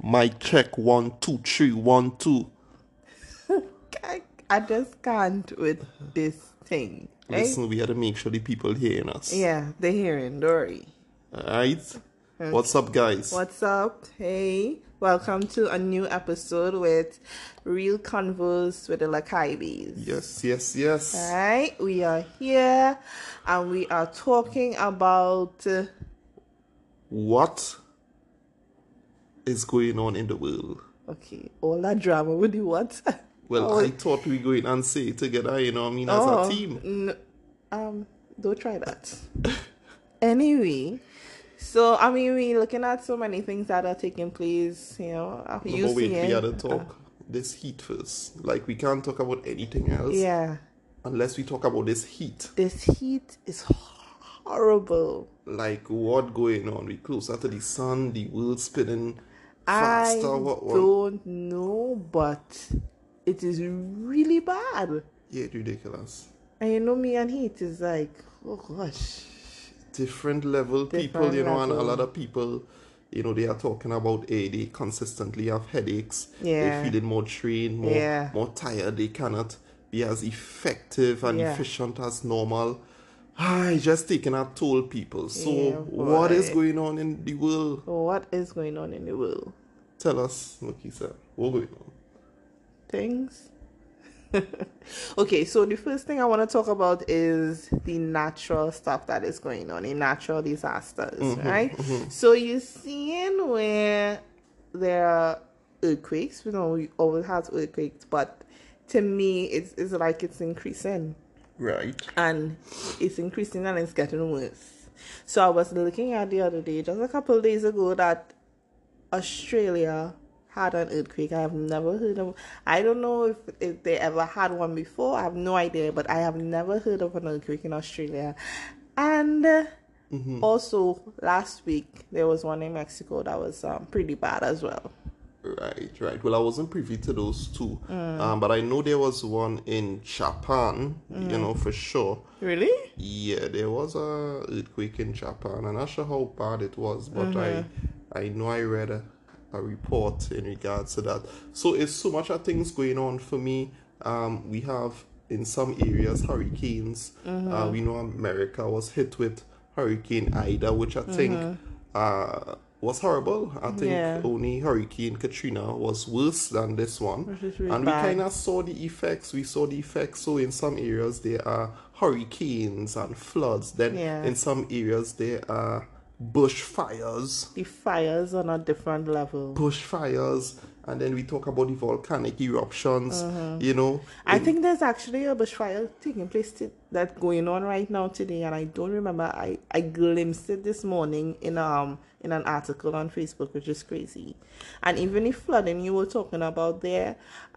Mic check 1 2 3 1 2. I just can't with this thing. Right? Listen, we had to make sure the people hearing us. Yeah, they're hearing. Don't worry. Alright? What's up, guys? What's up? Hey, welcome to a new episode with Real Convos with the Lakaibis. Yes. Alright, we are here and we are talking about What is going on in the world? okay, all that drama with the what? Well, I thought we go in and say it together, you know what I mean, as a team. Don't try that. Anyway, so I mean, we're looking at so many things that are taking place. You know, But wait, we gotta talk this heat first. Like, we can't talk about anything else. Yeah. Unless we talk about this heat. This heat is horrible. Like, what going on? We closer to the sun, the world spinning faster. I don't know, but it is really bad. Yeah, it's ridiculous. And you know, me and heat is like, oh gosh. Different level people, you know, and a lot of people, you know, they are talking about they consistently have headaches. Yeah. They're feeling more drained, more tired. They cannot be as effective and efficient as normal. It's just taking a toll, people. So what is going on in the world? What is going on in the world? Tell us, Makisa. What's going on? Things. Okay, so the first thing I want to talk about is the natural stuff that is going on, the natural disasters, right? So you're seeing where there are earthquakes. You know, we always have earthquakes, but to me, it's like it's increasing. Right. And it's increasing and it's getting worse. So I was looking at the other day, just a couple of days ago, that Australia had an earthquake. I have never heard of. I don't know if they ever had one before. I have no idea, but I have never heard of an earthquake in Australia. And also last week there was one in Mexico that was pretty bad as well. Right. Well, I wasn't privy to those two, but I know there was one in Japan. You know, for sure. Really? Yeah, there was a earthquake in Japan. I'm not sure how bad it was, but I know I read a report in regards to that. So it's so much of things going on for me. We have in some areas hurricanes. We know America was hit with Hurricane Ida, which I think was horrible. I think only Hurricane Katrina was worse than this one. Really and bad. we kind of saw the effects. We saw the effects. So in some areas there are hurricanes and floods. Then in some areas there are bushfires. The fires on a different level. Bushfires. And then we talk about the volcanic eruptions, you know. I think there's actually a bushfire taking place that's going on right now today, and I don't remember. I glimpsed it this morning in an article on Facebook, which is crazy. And even the flooding you were talking about there,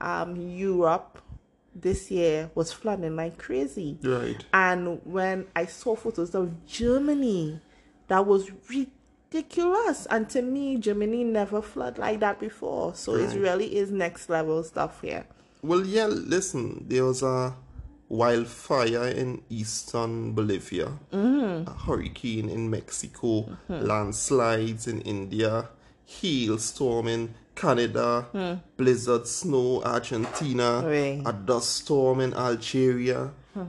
Europe this year was flooding like crazy. Right. And when I saw photos of Germany, that was ridiculous. And to me, Germany never flooded like that before. So it really is next level stuff here. Well, yeah, listen, there was a wildfire in eastern Bolivia, a hurricane in Mexico, landslides in India, hailstorm in Canada, blizzard snow Argentina, a dust storm in Algeria.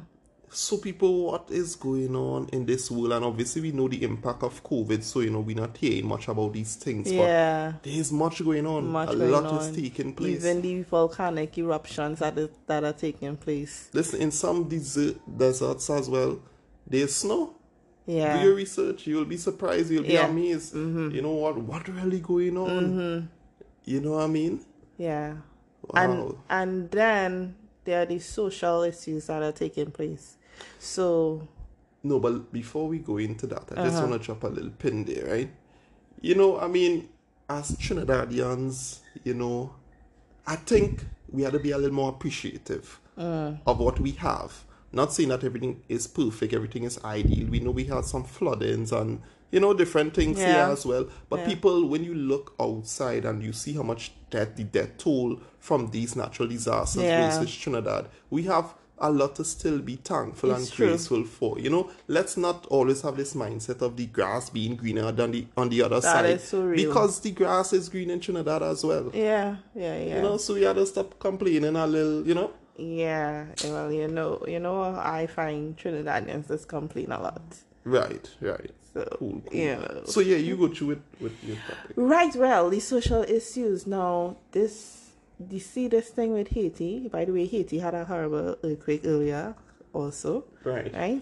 So people, what is going on in this world? And obviously we know the impact of COVID, so you know we're not hearing much about these things. Yeah. But there's much going on. A lot is taking place. Even the volcanic eruptions that are taking place. Listen, in some deserts as well, there's snow. Yeah. Do your research. You'll be surprised. You'll be amazed. You know what really going on? You know what I mean? Yeah. Wow. And then there are these social issues that are taking place. So no, but before we go into that, I just want to drop a little pin there, right? You know, I mean, as Trinidadians, you know, I think we had to be a little more appreciative of what we have. Not saying that everything is perfect, everything is ideal. We know we had some floodings and, you know, different things here as well. But people, when you look outside and you see how much the death toll from these natural disasters versus Trinidad, we have a lot to still be thankful It's and true. grateful for. You know, let's not always have this mindset of the grass being greener than on the other side. is so real. Because the grass is green in Trinidad as well. Yeah. You know, so we had to stop complaining a little, you know? Yeah. Well, I find Trinidadians just complain a lot. Right. So, Cool. So yeah, you go through it with your topic. Right, well, the social issues. Now, you see this thing with Haiti. By the way, Haiti had a horrible earthquake earlier also. Right.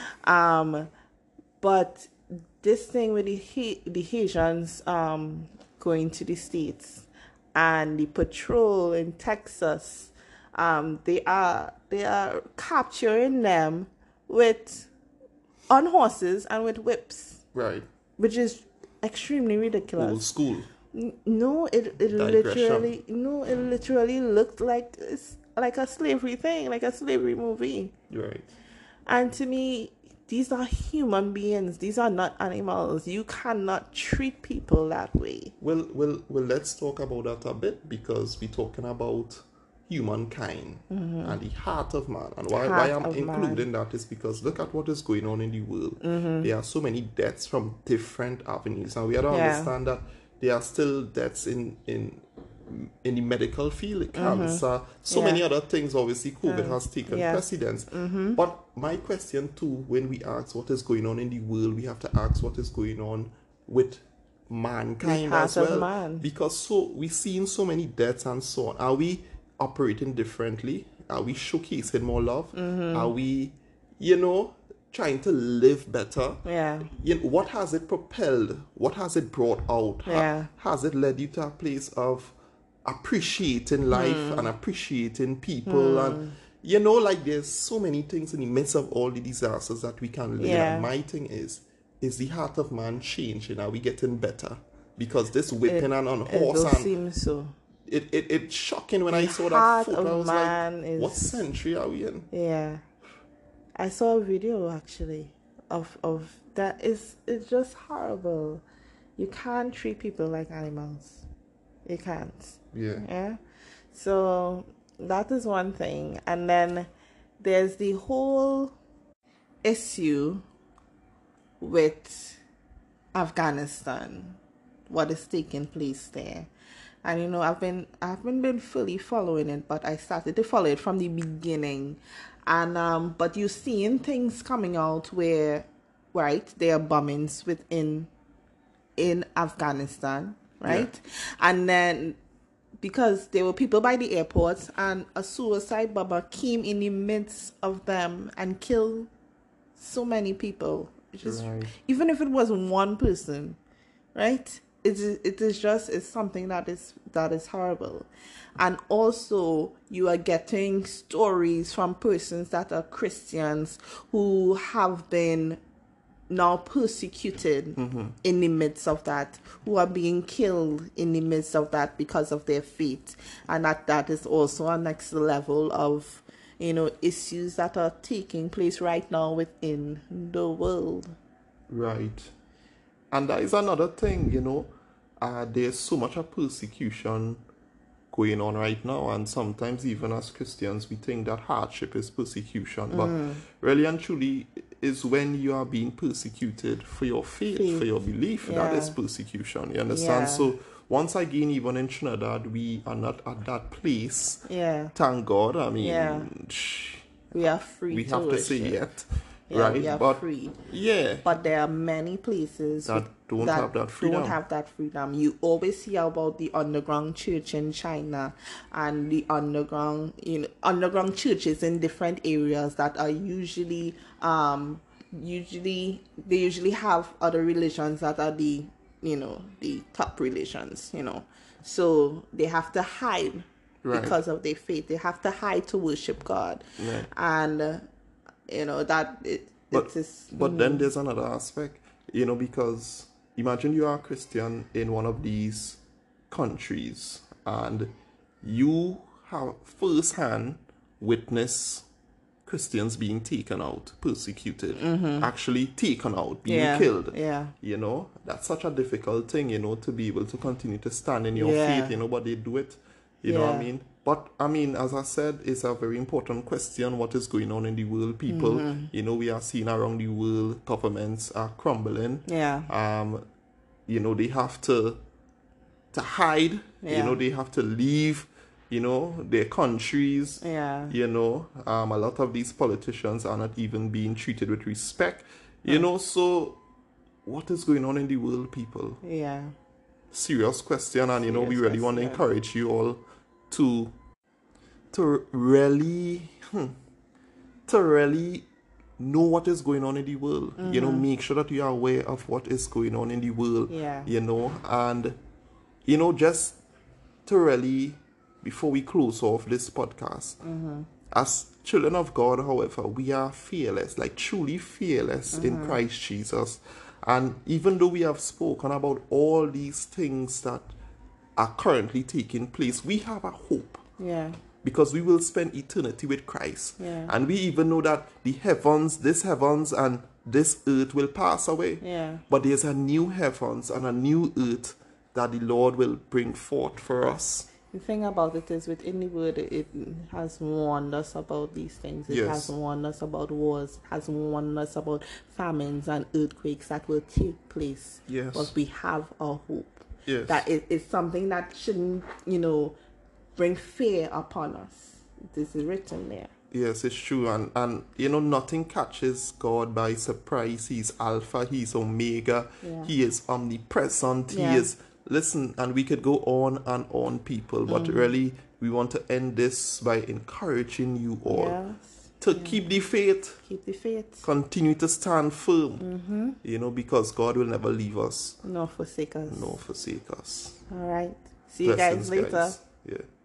But this thing with the Haitians going to the States and the patrol in Texas, they are capturing them on horses and with whips. Right. Which is extremely ridiculous. Old school. No, it literally looked like it's like a slavery thing, like a slavery movie. Right. And to me, these are human beings. These are not animals. You cannot treat people that way. Well, let's talk about that a bit, because we're talking about humankind and the heart of man. And why I'm including that is because look at what is going on in the world. There are so many deaths from different avenues, and we have to understand that there are still deaths in the medical field, cancer, many other things. Obviously, COVID has taken precedence. But my question too, when we ask what is going on in the world, we have to ask what is going on with mankind as well. Because we've seen so many deaths and so on. Are we operating differently? Are we showcasing more love? Are we, trying to live better? What has it propelled? What has it brought out? Has it led you to a place of appreciating life and appreciating people? And there's so many things in the midst of all the disasters that we can live. And my thing is the heart of man changing? Are we getting better? Because this whipping and on horse it seems so. It's shocking when I saw that photo. I was like, what century are we in? Yeah. I saw a video actually of that. It's just horrible. You can't treat people like animals. You can't. Yeah. So that is one thing. And then there's the whole issue with Afghanistan, what is taking place there. And I haven't been fully following it, but I started to follow it from the beginning. And but you're seeing things coming out where, right, there are bombings in Afghanistan, right? And then because there were people by the airports and a suicide bomber came in the midst of them and killed so many people. Even if it was one person, right? It's something that is horrible. And also you are getting stories from persons that are Christians who have been now persecuted in the midst of that, who are being killed in the midst of that because of their faith. And that is also a next level of issues that are taking place right now within the world. Right. And that is another thing, there's so much of persecution going on right now, and sometimes even as Christians we think that hardship is persecution, but really and truly is when you are being persecuted for your faith. For your belief, that is persecution, you understand? So once again, even in Trinidad, we are not at that place. Thank God. I mean, we are free. We have to say yet. Yeah, right, we are free. Yeah, but there are many places that don't have that freedom. You always hear about the underground church in China and the underground churches in different areas that are usually have other religions that are the top religions. So they have to hide because of their faith. They have to hide to worship God, and. But then there's another aspect, because imagine you are a Christian in one of these countries and you have firsthand witness Christians being taken out, persecuted, actually taken out, being killed. That's such a difficult thing, to be able to continue to stand in your faith, but they do it You know what I Yeah. mean? But I mean, as I said, it's a very important question. What is going on in the world, people? You know, we are seeing around the world, governments are crumbling. Yeah. You know, they have to hide. You Yeah. know, they have to leave. You know, their countries. Yeah. You know, a lot of these politicians are not even being treated with respect. You know, so what is going on in the world, people? Yeah. Serious question, and you know, we Serious really want to question. encourage you all to really know what is going on in the world. You know, make sure that you are aware of what is going on in the world. Yeah. You know, and you know, just to really, before we close off this podcast, as children of God, however, we are fearless, like truly fearless in Christ Jesus. And even though we have spoken about all these things that are currently taking place, we have a hope. Yeah. Because we will spend eternity with Christ. Yeah. And we even know that this heavens and this earth will pass away. Yeah. But there's a new heavens and a new earth that the Lord will bring forth for us. The thing about it is, within the word, it has warned us about these things. It Yes. has warned us about wars. It has warned us about famines and earthquakes that will take place. Yes. But we have a hope. Yes. That it's something that shouldn't, bring fear upon us. This is written there. Yes, it's true. And you know, nothing catches God by surprise. He's Alpha, He's Omega, Yeah. He is omnipresent, Yeah. He is... Listen, and we could go on and on, people, but really, we want to end this by encouraging you all Yes. to keep the faith, Keep the faith. continue to stand firm, you know, because God will never leave us Nor forsake us. nor forsake us. All right. See you guys Blessings, later. guys. Yeah.